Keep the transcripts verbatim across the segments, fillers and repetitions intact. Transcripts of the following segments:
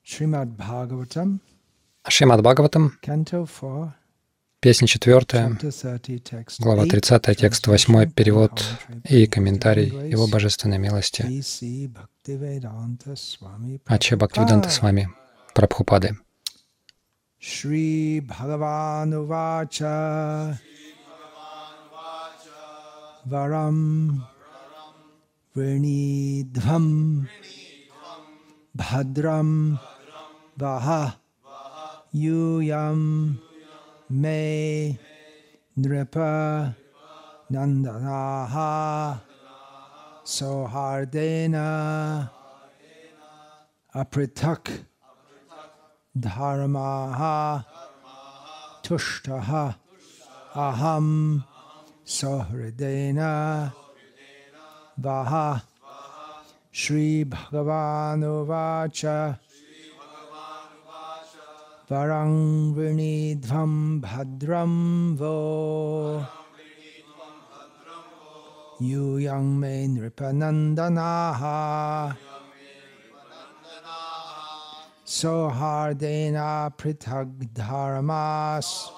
Шримад Бхагаватам, Шримад Бхагаватам, песня четвертая, глава тридцатая, текст восьмой, перевод и комментарий Его Божественной милости Ача Бхактивиданта Свами Прабхупады. Шри Бхагавану Вача Варам Врнидхвам Бхадрам Ваха Юям Ме Нрипа Нанданаха Сохардена Апритак Dharmaha Tushtaha Aham Sahridena Vaha Shri Bhagavanu Vacha Varang Vrinidvam Bhadram Vo Yuyang Me Nripanandanaha Sohardena Pritag Dharmas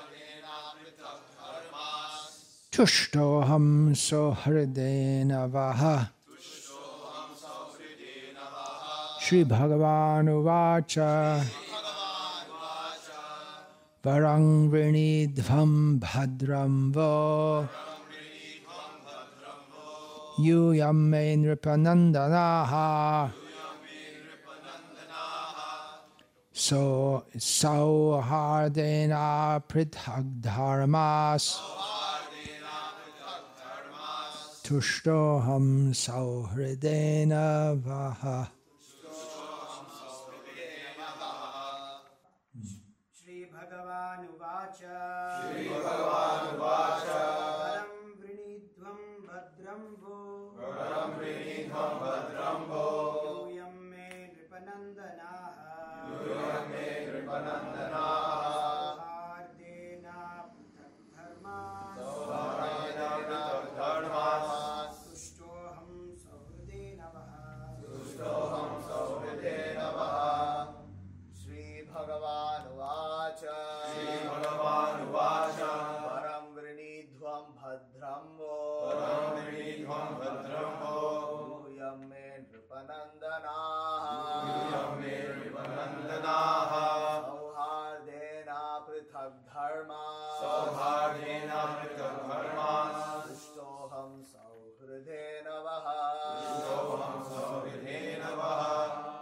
Tushtoham Sohardena Vaha Shri Bhagavanu Vacha Varang Vrinidvam Bhadram Vo Yuyam Me Nripanandanaha So Sauhardena Prithag Dharmas Tushtoham Sauhridena Vaha. Shri Bhagavan Uvacha Shri Bhagavan Uvacha Varam Vrinidvam Bhadram Vo Varam Vrinidvam Bhadram Vo Yuyam Me Nripanandanaha Yuyam Me Nripanandanaha Sauhardena Prithak Dharmas Sauhardena Prithak Dharmas Tushtoham Sauhridena Vaha Tushtoham Sauhridena Vaha. Shri Bhagavan Uvacha Shri Bhagavan Uvacha Varam Vrinidvam Bhadram Vo Varam Vrinidvam Bhadram Vo Yuyam Me Nripanandanaha Yuyam Me Nripanandanaha Sauhardena Prithak Dharmas Sauhardena Prithak Dharmas Tushtoham Sauhridena Vaha Tushtoham Sauhridena Vaha.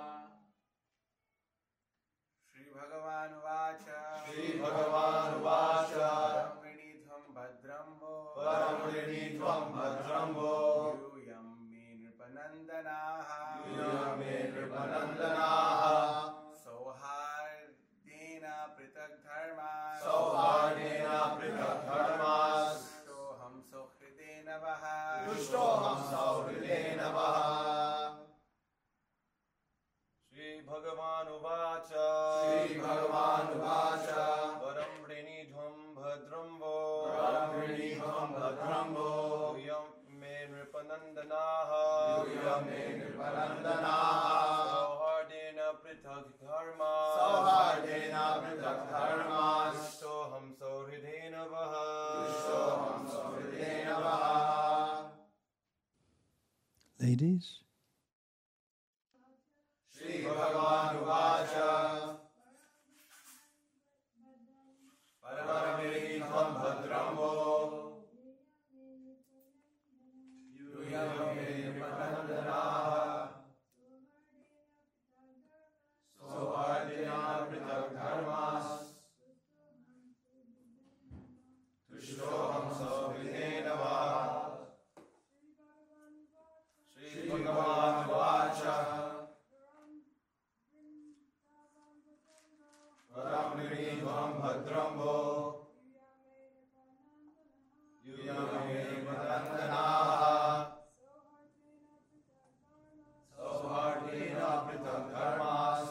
Shri Bhagavan Uvacha Shri Bhagavan Uvacha Varam Vrinidvam Bhadram Vo Varam Vrinidvam Bhadram Vo Yuyam Me Nripanandanaha Yuyam Me Nripanandanaha Sauhardena Prithak Dharmas Sauhardena Prithak Dharmas Tushtoham Sauhridena Vaha Tushtoham Sauhridena Vaha. Shri Bhagavan Uvacha Shri Bhagavan Uvacha Varam Vrinidvam Bhadram Vo Varam Vrinidvam Bhadram Vo Yuyam Me Nripanandanaha Yuyam Me Nripanandanaha Sauhardena Prithak Dharmas Sauhardena Prithak Dharmas Tushtoham Sauhridena Vaha Tushtoham Sauhridena Vaha. Ladies, Shri Bhagavan Uvacha Varam Vrinidvam Bhadram Vo Yuyam Me Nripanandanaha Sauhardena Prithak Dharmas Tushtoham Sauhridena Vaha. Shri Bhagavan Uvacha Varam Vrinidvam Bhadram Vo Yuyam Me Nripanandanaha Sauhardena Prithak Dharmas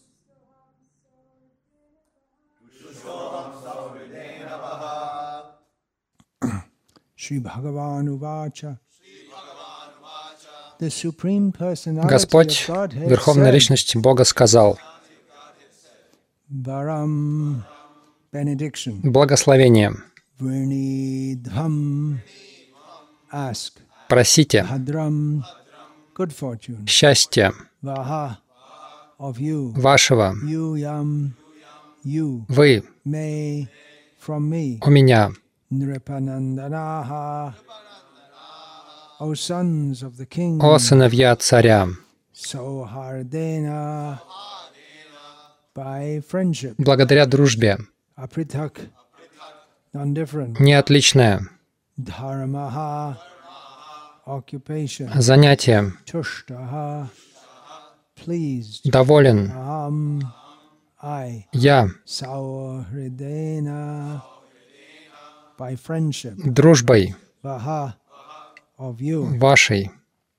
Tushtoham Sauhridena Vaha. Shri Bhagavan Uvacha The Supreme Personality Господь, of Godhead Верховная said, Личность Бога, сказал: Varam, benediction. Благословение. Vrinidham, ask. Просите. Bhadram, good fortune. Счастье Vaha, of you. вашего. Yuyam, you. Вы May, from me. у меня. Nripanandanaha, O sons of the king. О сыновья царя. Sauhardena, by friendship. Благодаря дружбе. Apritak, non-different. Не отличное. Dharmaha, occupation. Занятие. Tushtaha, pleased. Доволен. Aham, I. Я. Sauhridena, by friendship. Дружбой Vaha, of you. вашей.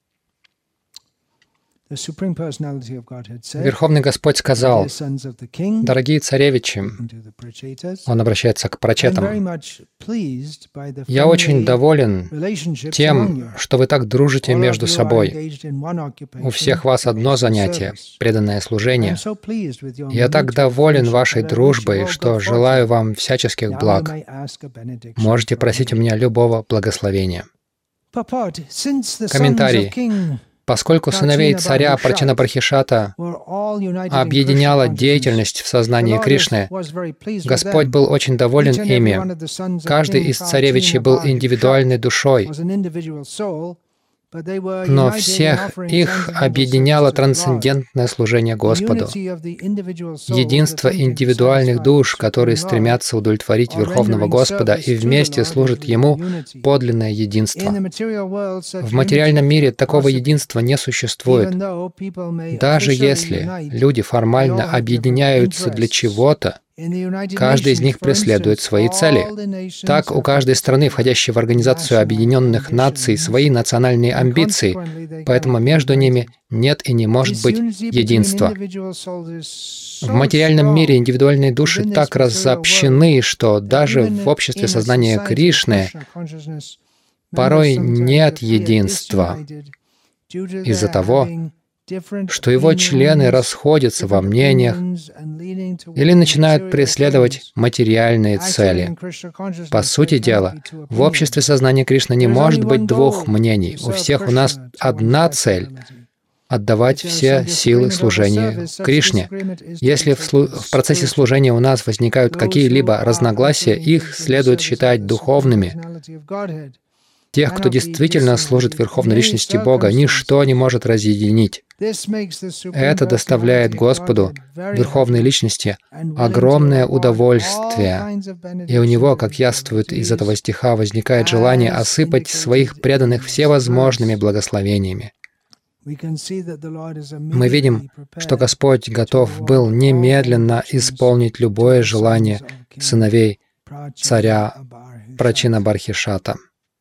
The Supreme Personality of Godhead said, Верховный Господь сказал: "Dear sons of the king," дорогие царевичи, into the Prachetas, он обращается к "I'm very прачетам, much pleased by the я очень friendly доволен relationships among тем, you. что вы так дружите All of между you are собой. engaged in one occupation, У всех вас одно занятие service. — преданное I'm служение. so pleased with your Я так mutual доволен friendship вашей that I wish you дружбой, all что good желаю fortune. вам всяческих Now you благ. may ask a benediction Можете from просить у me." меня любого благословения. Purport, since the sons Комментарий. of king Поскольку сыновей царя Прачина Бархишата were all united in объединяла Krishna деятельность в consciousness, сознании the Lord Кришны, was very pleased with Господь them. был очень доволен Each and every ими. one of the sons of Каждый King из царевичей был Prachina индивидуальной душой, was an individual soul, but they were но united in всех offering их transcendental объединяло service to the Lord. трансцендентное служение The Господу. unity of the individual souls Единство attempting to индивидуальных satisfy душ, the которые Supreme Lord, стремятся удовлетворить or Верховного rendering Господа service и to the вместе Lord служат is Ему, unity. подлинное In единство. the material world, such В материальном unity мире is такого possible, единства не существует. even though people may Даже officially если unite люди формально they all have объединяются different для interests. чего-то, In the United каждый из Nations, них for преследует instance, свои all цели. the nations Так, у have каждой страны, particular входящей в Организацию national Объединенных Наций, ambitions, свои национальные and амбиции, consequently they поэтому cannot be между ними united. нет и не может This быть unity between единства. individual souls is В so материальном мире strong индивидуальные души within this так material world разобщены, что that даже even в обществе in a сознания society of Кришны Krishna consciousness, порой members sometimes нет appear единства disunited due to из-за their того, having different что его члены opinions, расходятся во different мнениях opinions and leaning или towards начинают material преследовать things. материальные Actually, цели. in Krishna consciousness, По there сути cannot дела, be two в обществе opinions. сознания Кришны не There is может only быть one двух goal мнений. to У serve всех у нас Krishna to одна one's best цель ability. — отдавать If there is все some силы disagreement over служения service, such Кришне. disagreement is to Если be в, слу- taken в процессе spiritually. служения у нас возникают Those who какие-либо are разногласия, entering их into the следует service of считать the Supreme духовными. Personality of Godhead Тех, кто cannot be действительно служит disunited in Верховной any Личности Бога, ничто не circumstances. может разъединить. This makes the Supreme Это доставляет Personality of Господу, Godhead very Верховной happy Личности, and willing to огромное award all удовольствие. kinds of И у benedictions него, and как яствует из этого devotees, стиха, возникает желание as осыпать своих indicated преданных in this всевозможными verse. благословениями. We can see that the Lord is Мы видим, immediately что prepared Господь to готов award был all немедленно benedictions исполнить to любое the желание sons of King сыновей Prachina царя Barhishat. Прачина Бархишата.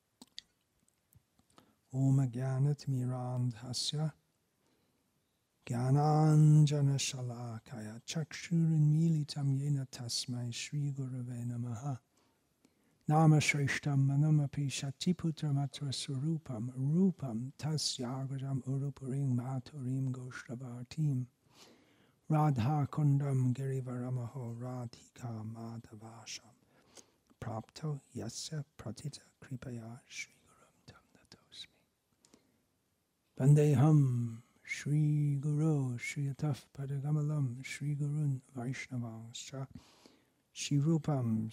Om Gyanatmirandhasya Gyananjana Shalakaya Chakshurinmilitam Yena Tasmai Shri Gurave Namaha Nama Shrishtam Manamapi Shatiputramatra Surupam Rupam Tasyagajam Urupurim Maturim Goshtavatim Radha Kundam Girivaramaho Radhika Madhavasham Prapto Yasya Pratita Kripaya Shri Gurum Tam Natosmi Vandeham Shri Guru Shri Ataf Padagamalam Shri Gurun Vaishnavanscha Shri Rupam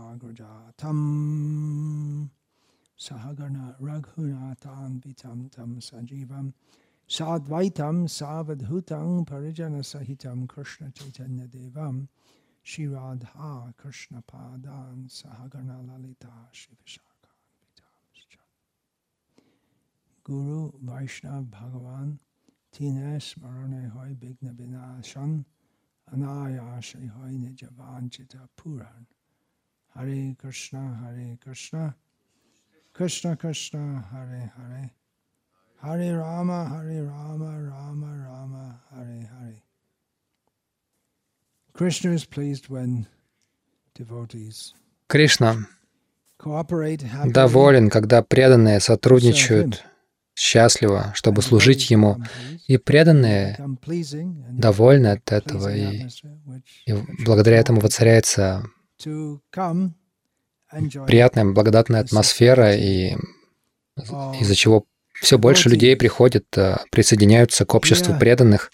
Sagrajatam Sahagana Raghunatan Vitam Tam Sajivam Sadvaitam Savadhutam Parijana Sahitam Krishna Chaitanya Devam Shri Radha Krishna Padan Sahagana Lalita Shri Vishakha Vitamscha Guru Vaishnav Bhagavan Tines Marane Hoy Bigna Binashan Anayashri Hoy Nijavanchita Puran Hare Krishna Hare Krishna Krishna Krishna Hare Hare Hare Rama Hare Rama Rama Rama Hare Hare. Krishna is pleased when devotees Кришна cooperate happily доволен, когда преданные сотрудничают счастлива, чтобы служить Ему. И преданные довольны от этого, и, и благодаря этому воцаряется приятная, благодатная атмосфера, и из-за чего все больше людей приходят, присоединяются к обществу преданных.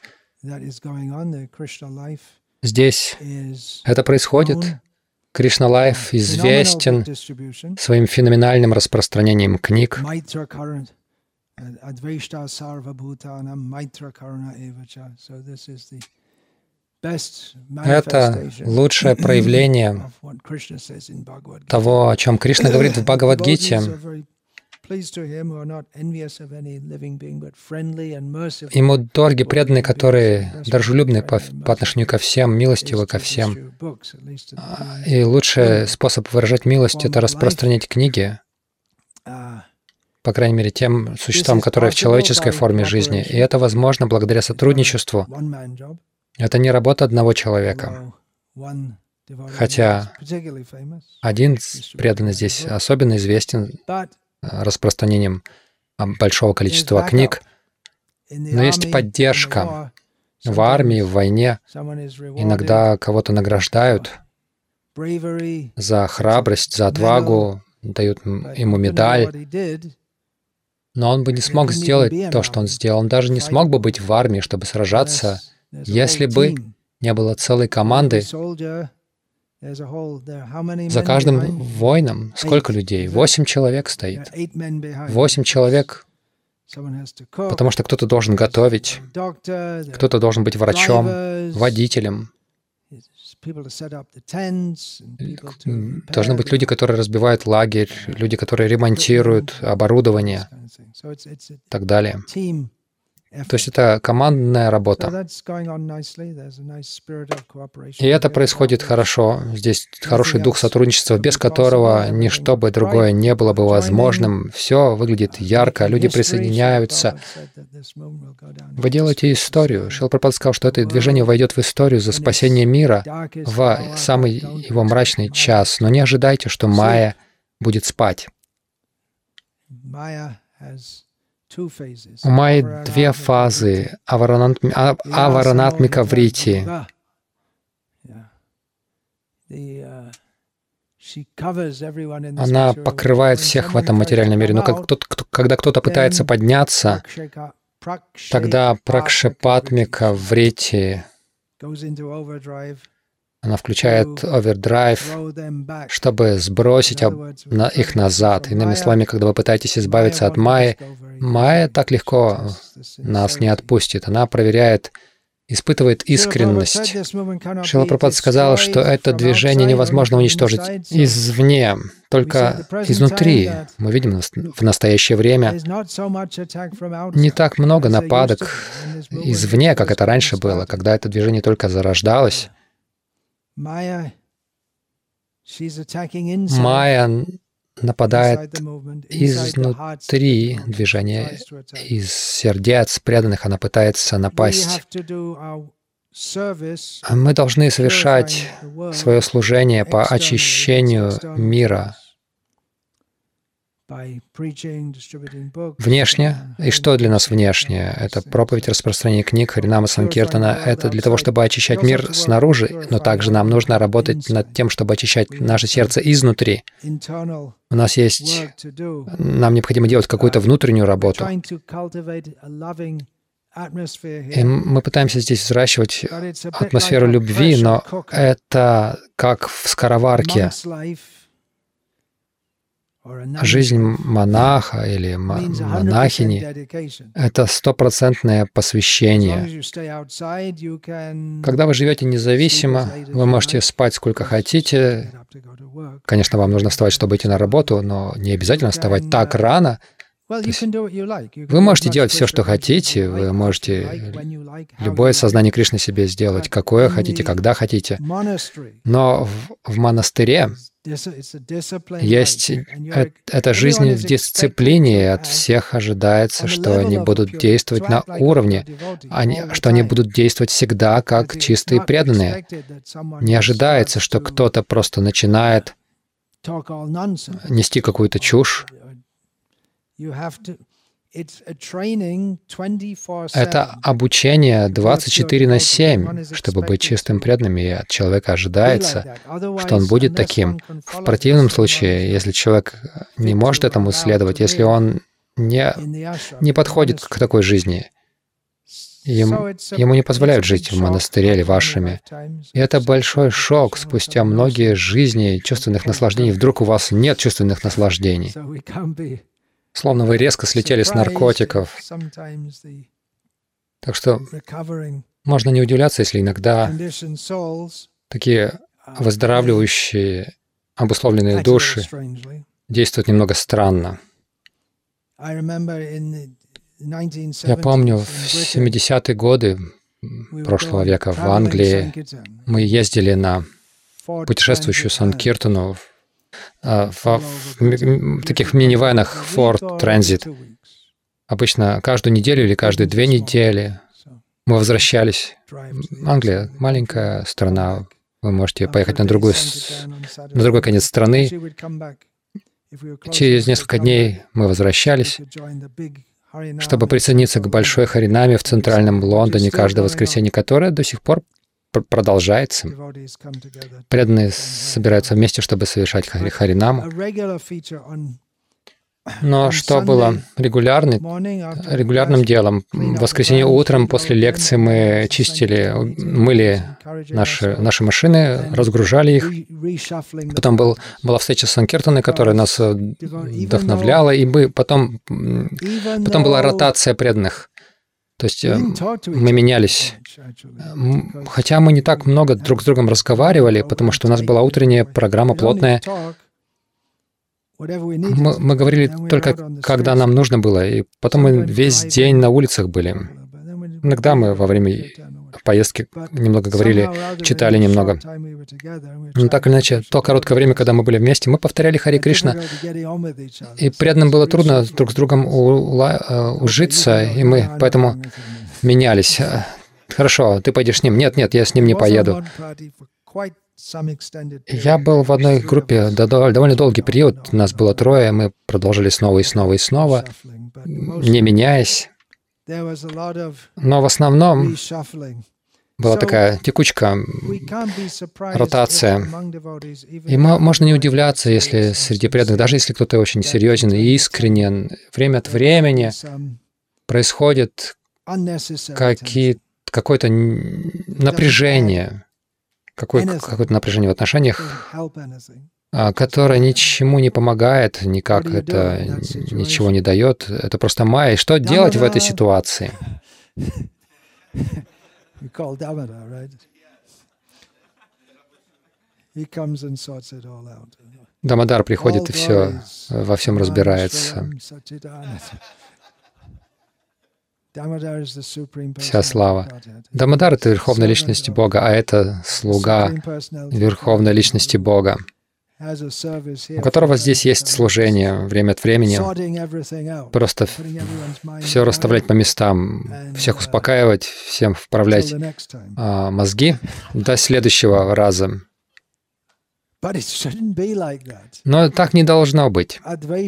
Здесь это происходит. Кришна Лайф известен своим феноменальным распространением книг. Это лучшее проявление того, о чем Кришна говорит в Бхагавад-гите. Ему дороги преданные, которые дружелюбны по, по отношению ко всем, милостивы ко всем. И лучший способ выражать милость — это распространять книги, по крайней мере, тем существам, которые в человеческой форме жизни. И это возможно благодаря сотрудничеству. Это не работа одного человека. Хотя один преданный здесь особенно известен распространением большого количества книг, но есть поддержка в армии, в войне. Иногда кого-то награждают за храбрость, за отвагу, дают ему медаль, но он бы не смог сделать то, что он сделал. Он даже не смог бы быть в армии, чтобы сражаться, если бы не было целой команды. За каждым воином сколько людей? Восемь человек стоит. Восемь человек, потому что кто-то должен готовить, кто-то должен быть врачом, водителем. Должны быть люди, которые разбивают лагерь, люди, которые ремонтируют оборудование и так далее. То есть это командная работа. И это происходит хорошо. Здесь хороший дух сотрудничества, без которого ничто бы другое не было бы возможным. Все выглядит ярко, люди присоединяются. Вы делаете историю. Шрила Прабхупада сказал, что это движение войдет в историю за спасение мира в самый его мрачный час. Но не ожидайте, что Майя будет спать. У Майи две фазы — аваранатмика врити. Она покрывает всех в этом материальном мире. Но как кто-то, кто, когда кто-то пытается подняться, тогда пракшепатмика врити, она включает овердрайв, чтобы сбросить их назад. Иными словами, когда вы пытаетесь избавиться от Майи, Майя так легко нас не отпустит. Она проверяет, испытывает искренность. Шрила Прабхупада сказал, что это движение невозможно уничтожить извне, только изнутри. Мы видим в настоящее время не так много нападок извне, как это раньше было, когда это движение только зарождалось. Майя нападает изнутри движения, из сердец преданных она пытается напасть. Мы должны совершать свое служение по очищению мира. Внешне. И что для нас внешне? Это проповедь, распространение книг, Харинама Санкиртана. Это для того, чтобы очищать мир снаружи, но также нам нужно работать над тем, чтобы очищать наше сердце изнутри. У нас есть... Нам необходимо делать какую-то внутреннюю работу. И мы пытаемся здесь взращивать атмосферу любви, но это как в скороварке. Жизнь монаха или монахини — это стопроцентное посвящение. Когда вы живете независимо, вы можете спать сколько хотите. Конечно, вам нужно вставать, чтобы идти на работу, но не обязательно вставать так рано. Вы можете делать все, что хотите, вы можете любое сознание Кришны себе сделать, какое хотите, когда хотите. Но в, в монастыре есть э, эта жизнь в дисциплине, от всех ожидается, что они будут действовать на уровне, они, что они будут действовать всегда как чистые преданные. Не ожидается, что кто-то просто начинает нести какую-то чушь. Это обучение двадцать четыре на семь, чтобы быть чистым преданным, и от человека ожидается, что он будет таким. В противном случае, если человек не может этому следовать, если он не, не подходит к такой жизни, ему, ему не позволяют жить в монастыре или в ашраме. И это большой шок. Спустя многие жизни чувственных наслаждений вдруг у вас нет чувственных наслаждений. Словно вы резко слетели с наркотиков. Так что можно не удивляться, если иногда такие выздоравливающие, обусловленные души действуют немного странно. Я помню, в семидесятые годы прошлого века в Англии мы ездили на путешествующую Санкиртану в, в, в таких минивэнах Ford Transit. Обычно каждую неделю или каждые две недели мы возвращались. Англия — маленькая страна. Вы можете поехать на, другую, на другой конец страны. Через несколько дней мы возвращались, чтобы присоединиться к большой харинаме в центральном Лондоне каждое воскресенье, которое до сих пор продолжается. Преданные собираются вместе, чтобы совершать харинаму. Но что было регулярным, регулярным делом? В воскресенье утром после лекции мы чистили, мыли наши, наши машины, разгружали их. Потом был, была встреча с Санкиртаной, которая нас вдохновляла, и мы потом, потом была ротация преданных. То есть мы менялись. Хотя мы не так много друг с другом разговаривали, потому что у нас была утренняя программа плотная. Мы, мы говорили только, когда нам нужно было, и потом мы весь день на улицах были. Иногда мы во время поездки немного говорили, читали немного. Но так или иначе, то короткое время, когда мы были вместе, мы повторяли Хари Кришна, и преданным было трудно друг с другом ужиться, и мы поэтому менялись. Хорошо, ты пойдешь с ним? Нет, нет, я с ним не поеду. Я был в одной группе довольно долгий период, нас было трое, мы продолжили снова и снова и снова, не меняясь. Но в основном была такая текучка, ротация. И можно не удивляться, если среди преданных, даже если кто-то очень серьезен и искренен, время от времени происходит какие, какое-то напряжение, Какое, какое-то напряжение в отношениях, которое ничему не помогает, никак это ничего не дает. Это просто майя. И что делать в этой ситуации? Дамодар приходит и все во всем разбирается. Вся слава. Дамодар — это Верховная Личность Бога, а это слуга Верховной Личности Бога, у которого здесь есть служение время от времени, просто все расставлять по местам, всех успокаивать, всем вправлять а, мозги до следующего раза. Но так не должно быть.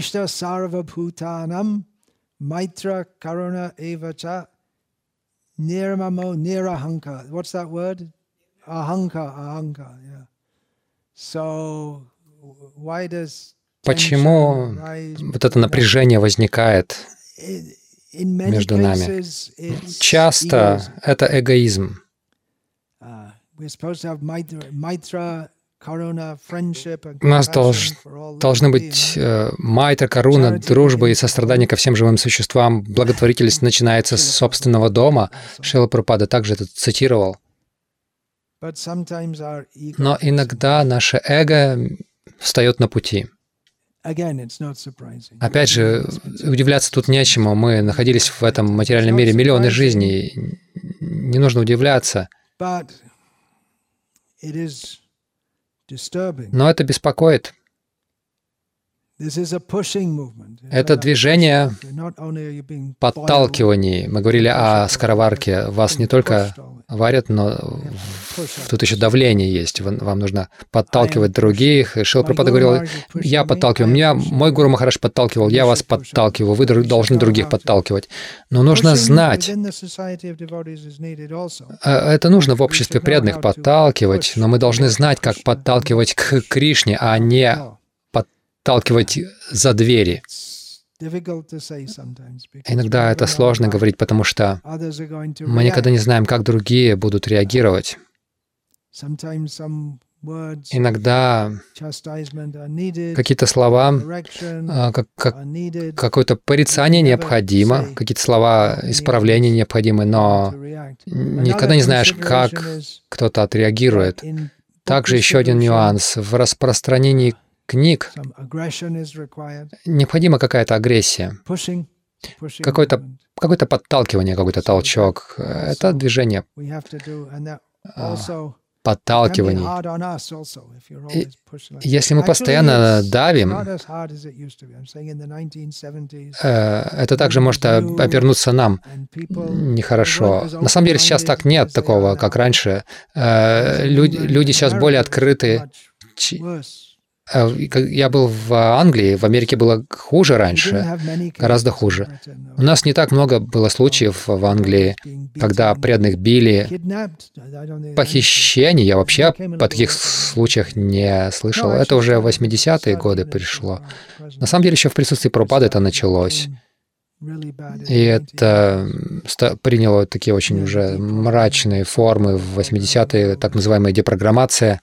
Maitra karuna evacha nirmamo nirahanka. What's that word? Ahanka, ahanka, yeah. So why does Почему вот это напряжение возникает между нами? Часто это эгоизм. У нас долж, должны быть э, майтра, каруна, дружба и сострадание ко всем живым существам. Благотворительность начинается с собственного дома. Шрила Прабхупада также это цитировал. Но иногда наше эго встает на пути. Опять же, удивляться тут нечему. Мы находились в этом материальном мире миллионы жизней. Не нужно удивляться. Но это беспокоит. Это движение подталкиваний. Мы говорили о скороварке. Вас не только варят, но тут еще давление есть. Вам нужно подталкивать других. И Шрила Прабхупада говорил, я подталкиваю. Меня мой Гуру Махарадж подталкивал, я вас подталкиваю. Вы должны других подталкивать. Но нужно знать, это нужно в обществе преданных подталкивать, но мы должны знать, как подталкивать к Кришне, а не подталкивать за двери. Иногда это сложно говорить, потому что мы никогда не знаем, как другие будут реагировать. Иногда какие-то слова, как, как, какое-то порицание необходимо, какие-то слова исправления необходимы, но никогда не знаешь, как кто-то отреагирует. Также еще один нюанс. В распространении книг необходима какая-то агрессия, какое-то какое-то подталкивание, какой-то толчок. Это движение подталкиваний. И если мы постоянно давим, это также может обернуться нам нехорошо. На самом деле сейчас так нет такого, как раньше. Люди, люди сейчас более открыты. Я был в Англии, в Америке было хуже раньше, гораздо хуже. У нас не так много было случаев в Англии, когда преданных били. Похищений я вообще о таких случаях не слышал. Это уже в восьмидесятые годы пришло. На самом деле еще в присутствии Прабхупады это началось. И это приняло такие очень уже мрачные формы в восьмидесятые, так называемая депрограммация.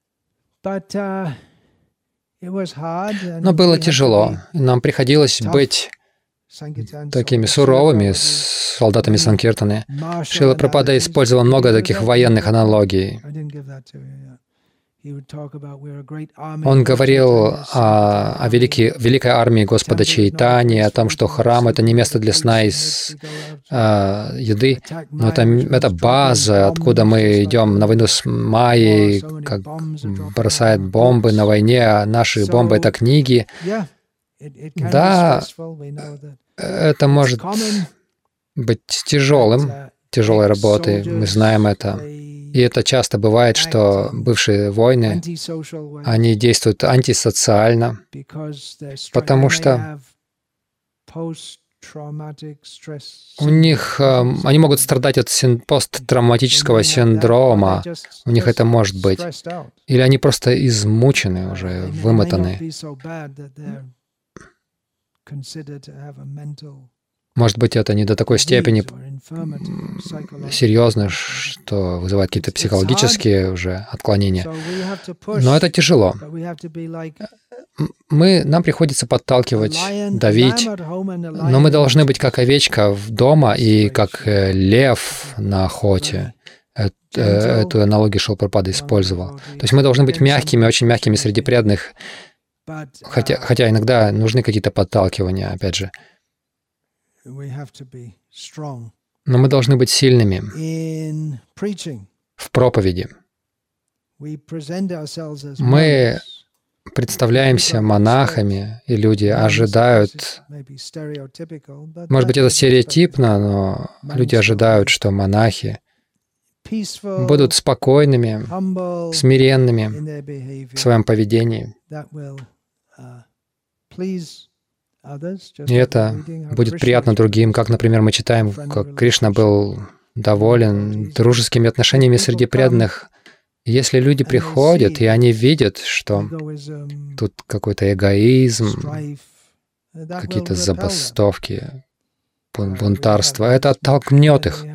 Но было тяжело. Нам приходилось быть такими суровыми с солдатами Санкиртаны. Шрила Прабхупада использовал много таких военных аналогий. Он говорил о, о великой, великой армии Господа Чайтани, о том, что храм — это не место для сна и с, а, еды, но это, это база, откуда мы идем на войну с Майей, как бросают бомбы на войне, а наши бомбы — это книги. Да, это может быть тяжелым, тяжелой работой, мы знаем это. И это часто бывает, что бывшие воины, они действуют антисоциально, потому что у них, они могут страдать от посттравматического синдрома, у них это может быть. Или они просто измучены уже, вымотаны. Может быть, это не до такой степени серьезно, что вызывает какие-то психологические уже отклонения. Но это тяжело. Мы, нам приходится подталкивать, давить, но мы должны быть как овечка дома и как лев на охоте. Эту аналогию Шрила Прабхупада использовал. То есть мы должны быть мягкими, очень мягкими среди преданных, хотя, хотя иногда нужны какие-то подталкивания, опять же. Но мы должны быть сильными в проповеди. Мы представляемся монахами, и люди ожидают, может быть, это стереотипно, но люди ожидают, что монахи будут спокойными, смиренными в своем поведении. И это будет приятно другим, как, например, мы читаем, как Кришна был доволен дружескими отношениями среди преданных. Если люди приходят, и они видят, что тут какой-то эгоизм, какие-то забастовки, бунтарство, это оттолкнет их.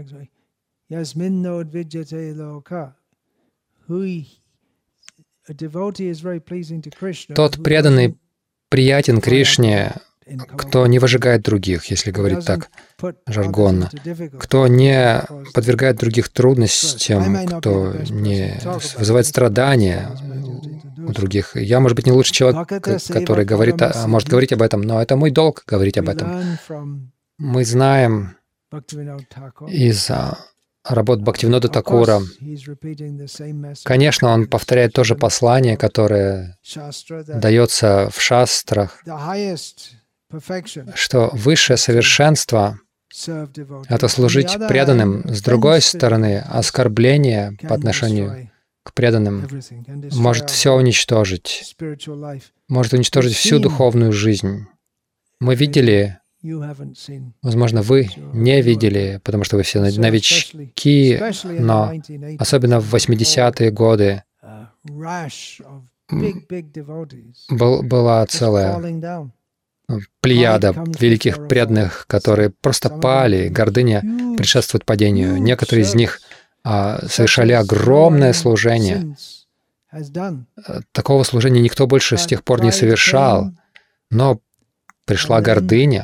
Тот преданный приятен Кришне, кто не выжигает других, если говорить так жаргонно, кто не подвергает других трудностям, кто не вызывает страдания у других. Я, может быть, не лучший человек, который говорит, может говорить об этом, но это мой долг говорить об этом. Мы знаем из работ Бхактивинода Of Такура. course, he's repeating the same message Конечно, он in повторяет то же послание, которое Shastra, that дается в шастрах, the highest perfection что высшее совершенство serve devotees. — это On the служить other преданным. hand, С другой offense стороны, оскорбление по can отношению destroy к преданным everything, can destroy может our все уничтожить, spiritual life. может уничтожить всю духовную жизнь. Мы видели, You haven't seen. возможно, вы не видели, потому что вы все So новички, especially in the но nineteen eighties, особенно в восьмидесятые годы a rash of big, big devotees был, была just целая falling down. плеяда великих преданных, которые просто пали. Гордыня Huge, предшествует падению. huge Некоторые из них а, service, совершали such as огромное no one служение. since has done. Такого служения никто больше с тех пор не совершал. Но пришла гордыня,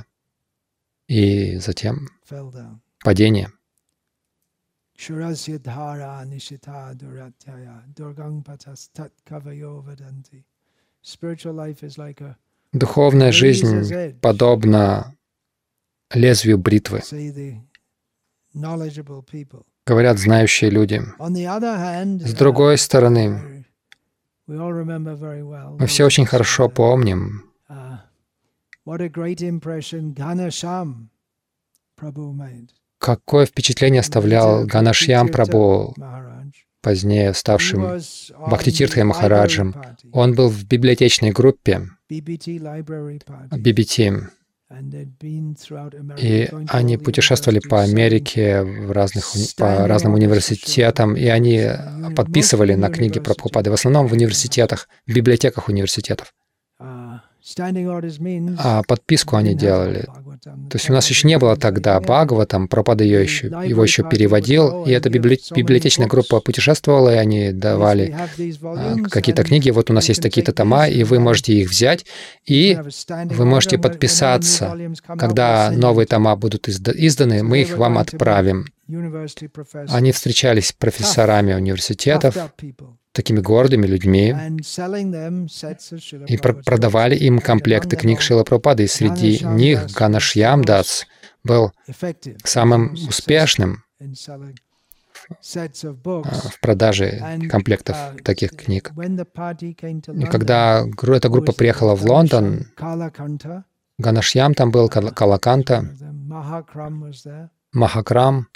и затем Fell down. падение. Shurasya dhara nishita duratyaya durgang patas tat kavayo vadanti. Spiritual life is like a, Духовная жизнь подобна лезвию бритвы, say, the knowledgeable people. говорят знающие люди. On the other hand, С другой uh, стороны, we all remember very well, мы все очень хорошо помним, uh, what a great impression Ghanasham Prabhu made. какое впечатление оставлял Ганашьям Прабху, Maharaj. позднее He ставшим was on Бхактитиртхой the Махараджем. library party, Он был в библиотечной группе B B T library party, би би ти, and they'd been throughout America, и going to они all the путешествовали по universities, Америке, в разных, уни- по разным университетам, и они подписывали на книги Прабхупады, в основном в университетах, в библиотеках университетов. uh, standing orders means А подписку они didn't have делали. Bhagavatam. То есть у нас еще не было тогда Бхагаватам, Прабхупада ее еще, его еще переводил, и эта библи- библиотечная группа путешествовала, и они давали а, какие-то книги. Вот у нас есть такие-то тома, и вы можете их взять, и вы можете подписаться. Когда новые тома будут изда- изданы, мы их вам отправим. Они встречались с профессорами университетов, такими гордыми людьми, и пр- продавали им комплекты книг Шрила Прабхупады, и среди них Ганашьям Дас был самым успешным в продаже комплектов таких книг. И когда гру- эта группа приехала в Лондон, Ганашьям там был, Кал- Калаканта, Махакрам,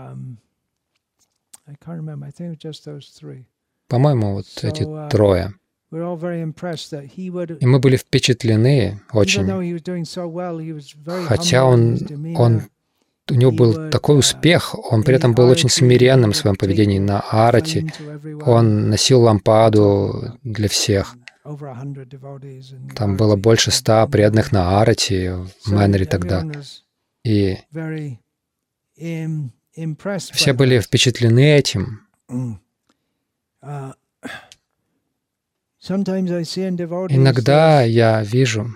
по-моему, вот эти трое. И мы были впечатлены очень, хотя он, он, у него был такой успех, он при этом был очень смиренным в своем поведении на арати. Он носил лампаду для всех. Там было больше ста преданных на арати в Мэннере тогда. И все были впечатлены этим. Иногда я вижу,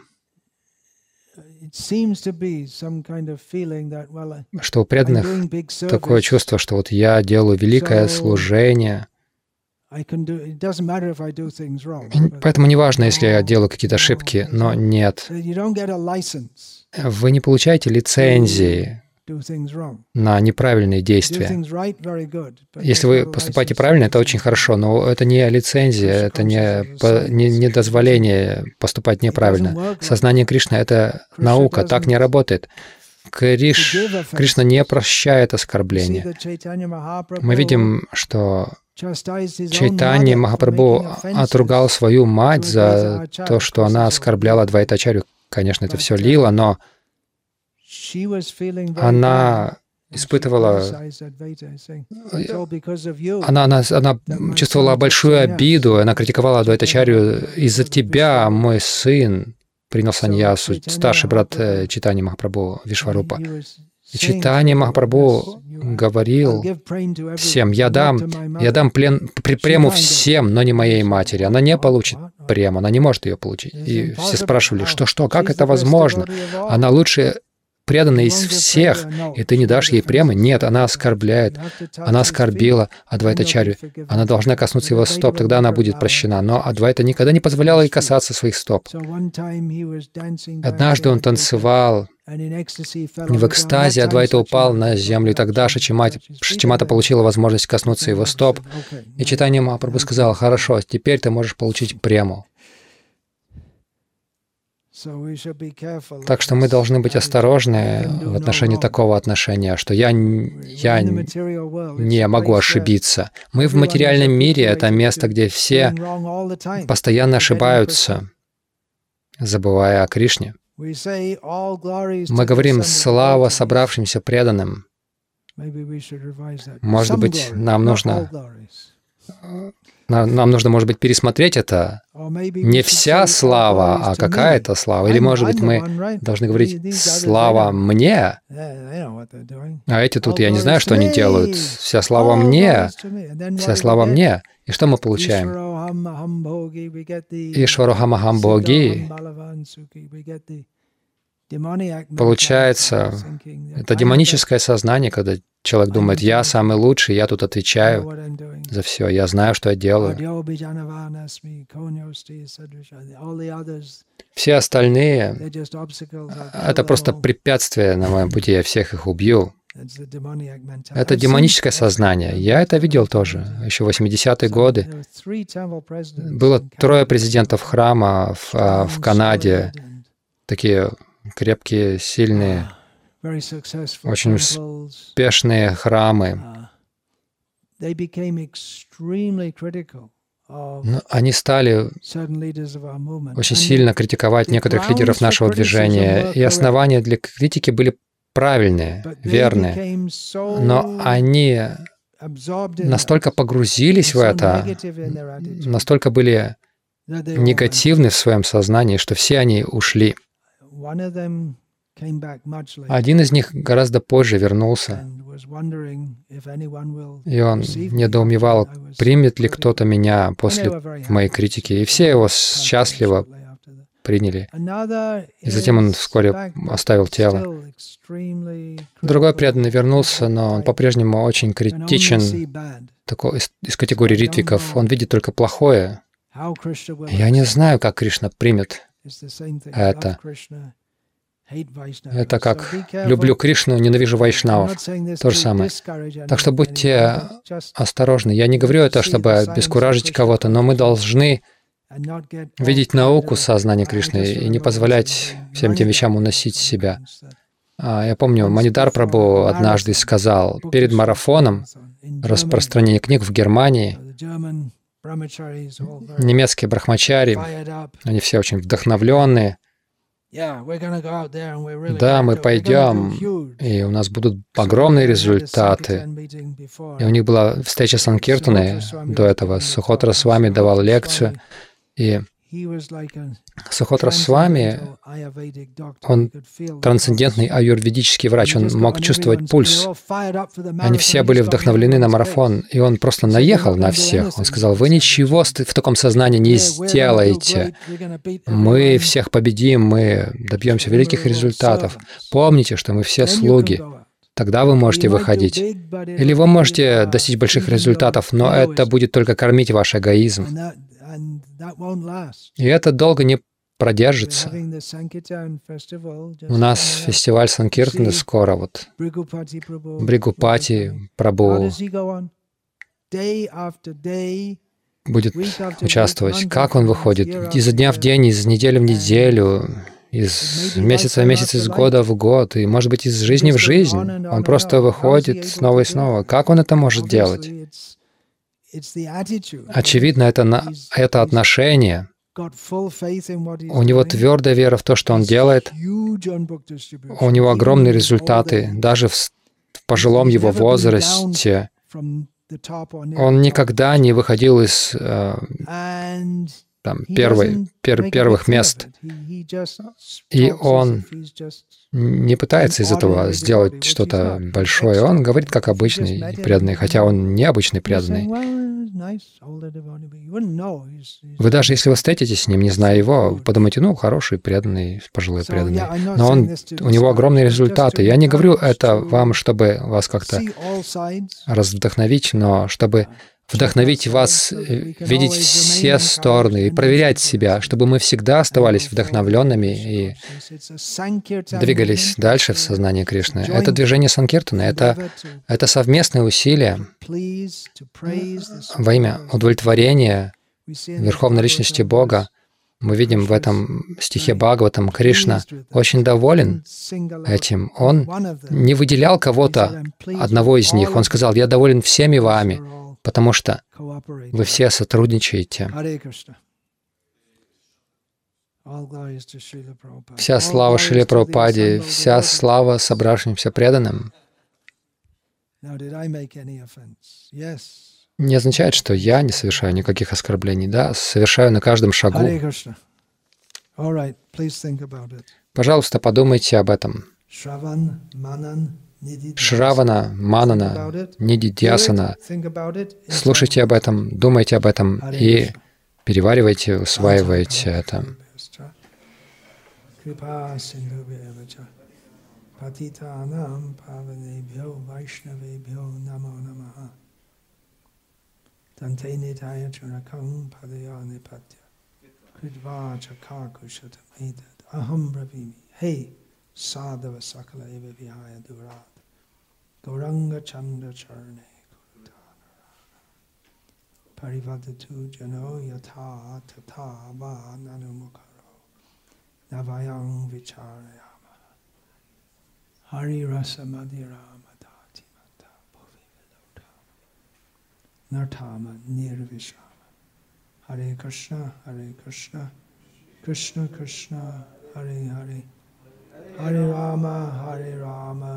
что у преданных такое чувство, что вот я делаю великое служение, и поэтому неважно, если я делаю какие-то ошибки, но нет. Вы не получаете лицензии на неправильные действия. Если вы поступаете правильно, это очень хорошо, но это не лицензия, это не, по- не, не дозволение поступать неправильно. Сознание Кришны — это наука, так не работает. Криш, Кришна не прощает оскорбления. Мы видим, что Чайтанья Махапрабху отругал свою мать за то, что она оскорбляла Адвайтачарью. Конечно, это все лила, но она испытывала, она, она, она чувствовала большую обиду, она критиковала Адвайтачарью: «Из-за тебя мой сын принял саньясу», старший брат э, Чайтаньи Махапрабху Вишварупа. И Чайтанья Махапрабху говорил всем: «Я дам, я дам плен, пр- прему всем, но не моей матери. Она не получит прему, она не может ее получить». И все спрашивали: «Что, что, как это возможно? Она лучший преданная из всех, и ты не дашь ей премы? Нет, она оскорбляет, она оскорбила Адвайтачарью. Она должна коснуться его стоп, тогда она будет прощена. Но Адвайта никогда не позволял ей касаться своих стоп. Однажды он танцевал, и в экстазе Адвайта упал на землю, и тогда Шачимата, Шачимата получила возможность коснуться его стоп. И Чайтанья Махапрабху сказал: «Хорошо, теперь ты можешь получить прему». Так что мы должны быть осторожны в отношении такого отношения, что я, я не могу ошибиться. Мы в материальном мире — это место, где все постоянно ошибаются, забывая о Кришне. Мы говорим «слава собравшимся преданным». Может быть, нам нужно... Нам нужно, может быть, пересмотреть это. Не вся слава, а какая-то слава. Или, может быть, мы должны говорить «слава мне», а эти тут, я не знаю, что они делают. Вся слава мне, вся слава мне. И что мы получаем? Ишварухамахамбоги. Получается, это демоническое сознание, когда человек думает: «Я самый лучший, я тут отвечаю за все, я знаю, что я делаю». Все остальные — это просто препятствия на моем пути, я всех их убью. Это демоническое сознание. Я это видел тоже. Еще в восьмидесятые годы было трое президентов храма в, в Канаде, такие крепкие, сильные, очень успешные храмы. Но они стали очень сильно критиковать некоторых лидеров нашего движения, и основания для критики были правильные, верные. Но они настолько погрузились в это, настолько были негативны в своем сознании, что все они ушли. Один из них гораздо позже вернулся, и он недоумевал, примет ли кто-то меня после моей критики. И все его счастливо приняли. И затем он вскоре оставил тело. Другой преданный вернулся, но он по-прежнему очень критичен, такой, из, из категории ритвиков. Он видит только плохое. Я не знаю, как Кришна примет это. Это как «люблю Кришну, ненавижу вайшнавов». То же самое. Так что будьте осторожны. Я не говорю это, чтобы обескуражить кого-то, но мы должны видеть науку сознания Кришны и не позволять всем этим вещам уносить себя. Я помню, Манидхар Прабху однажды сказал перед марафоном распространения книг в Германии, немецкие брахмачари, они все очень вдохновленные. Да, мы пойдем, и у нас будут огромные результаты. И у них была встреча Санкиртаны до этого. Сухотра Свами давал лекцию, и Сухотра Свами, он трансцендентный аюрведический врач, он мог чувствовать пульс. Они все были вдохновлены на марафон, и он просто наехал на всех. Он сказал: «Вы ничего в таком сознании не сделаете. Мы всех победим, мы добьемся великих результатов. Помните, что мы все слуги. Тогда вы можете выходить. Или вы можете достичь больших результатов, но это будет только кормить ваш эгоизм. И это долго не продержится. У нас фестиваль Санкиртаны скоро, вот. Бригупати Прабху будет участвовать. Как он выходит? Изо дня в день, из недели в неделю, из месяца в месяц, из года в год, и, может быть, из жизни в жизнь. Он просто выходит снова и снова. Как он это может делать? Очевидно, это, на, это отношение. У него твердая вера в то, что он делает. У него огромные результаты, даже в, в пожилом его возрасте. Он никогда не выходил из, э, там, первый, пер, первых мест. И он не пытается из этого сделать что-то большое. Он говорит, как обычный преданный, хотя он необычный преданный. Вы даже если вы встретитесь с ним, не зная его, вы подумаете, ну, хороший преданный, пожилой преданный. Но он, у него огромные результаты. Я не говорю это вам, чтобы вас как-то раздохновить, но чтобы вдохновить вас видеть все стороны и проверять себя, чтобы мы всегда оставались вдохновленными и двигались дальше в сознании Кришны. Это движение Санкиртана, это, это совместные усилия во имя удовлетворения Верховной Личности Бога. Мы видим в этом стихе Бхагаватам, Кришна очень доволен этим. Он не выделял кого-то, одного из них. Он сказал, я доволен всеми вами, потому что вы все сотрудничаете. Вся слава Шриле Прабхупаде, вся слава собравшимся преданным не означает, что я не совершаю никаких оскорблений. Да, совершаю на каждом шагу. Пожалуйста, подумайте об этом. Шравана, Манана, Нидидьясана. Слушайте об этом, думайте об этом и переваривайте, усваивайте это. Sadhava sakala eva vihaya durat Gauranga Chandra Charne Parivadatu Jano Yatha Tata Va Nanumukaro Navayang Vicharayama Hari Rasa Madhirama Dati Mata Bhuvi Vilodama Nartama Nirvishama Hare Krishna Hare Krishna Krishna Krishna Hare Hare Hare Rama, Hare Rama,